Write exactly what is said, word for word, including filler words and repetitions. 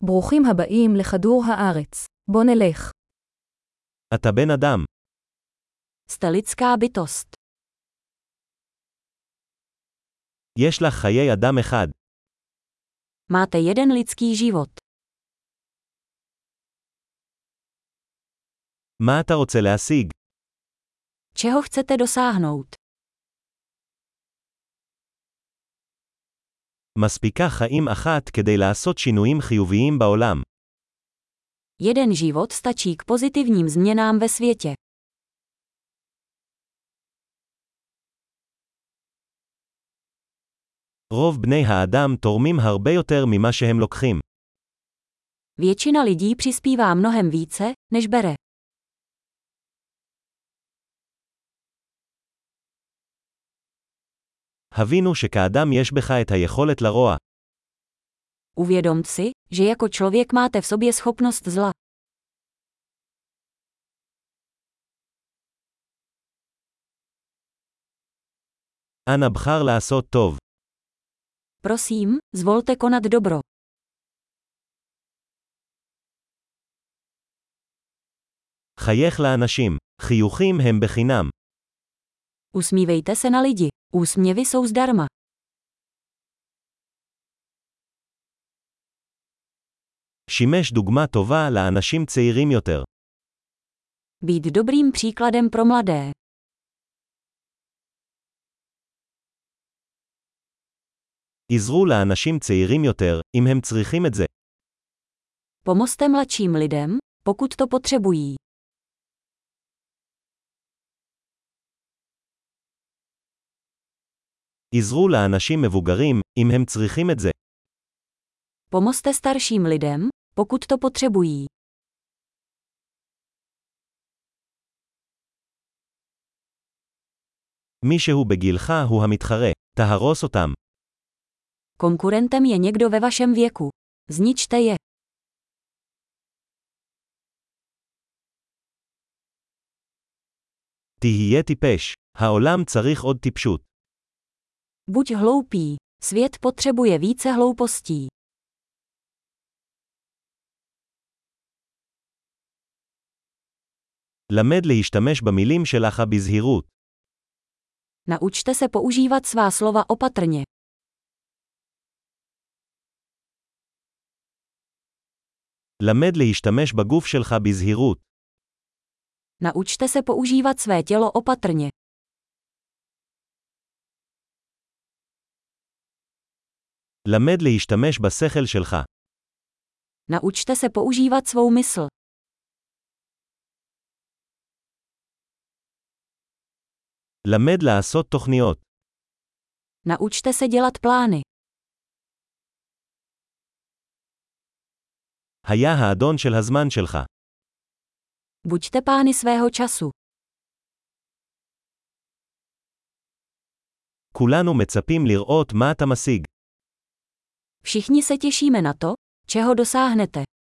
ברוכים הבאים לכדור הארץ. בוא נלך. אתה בן אדם. Jste lidská bytost. יש לך חיי אדם אחד. Máte jeden lidský život. מה אתה רוצה להשיג? Čeho chcete dosáhnout? מספיקה חיים אחת כדי לעשות שינויים חיוביים בעולם. Jeden život stačí k pozitivním změnám ve světě. רוב בני האדם תורמים הרבה יותר ממה שהם לוקחים. Většina lidí přispívá mnohem více, než bere. הבינו שכאדם יש בך את היכולת לרוע. Uvědomt si, že jako člověk máte v sobě schopnost zla. אנא בחר לעשות טוב. Prosím, zvolte konat dobro. חייך לאנשים. חיוכים הם בחינם. Usmívejte se na lidi. Úsměvy jsou zdarma. שימש דוגמה טובה לאנשים צעירים יותר. Být dobrým příkladem pro mladé. עזרו לאנשים צעירים יותר, אם הם צריכים את זה. Pomozte mladším lidem, pokud to potřebují. עזרו לאנשים מבוגרים, אם הם צריכים את זה. Pomozte starším lidem, pokud to potřebují. מישהו בגילך הוא המתחרה. תהרוס אותם. Konkurentem je někdo ve vašem věku. Zničte je. תהיה טיפש. העולם צריך עוד טיפשות. Buď hloupý. Svět potřebuje více hloupostí. למד להשתמש במילים שלך בזהירות. Naučte se používat svá slova opatrně. למד להשתמש בגוף שלך בזהירות. Naučte se používat své tělo opatrně. למד להשתמש בשכל שלך. Naučte se používat svou mysl. למד לעשות תוכניות. Naučte se dělat plány. היה האדון של הזמן שלך. Buďte pány svého času. כולנו מצפים לראות מה אתה משיג. Všichni se těšíme na to, čeho dosáhnete.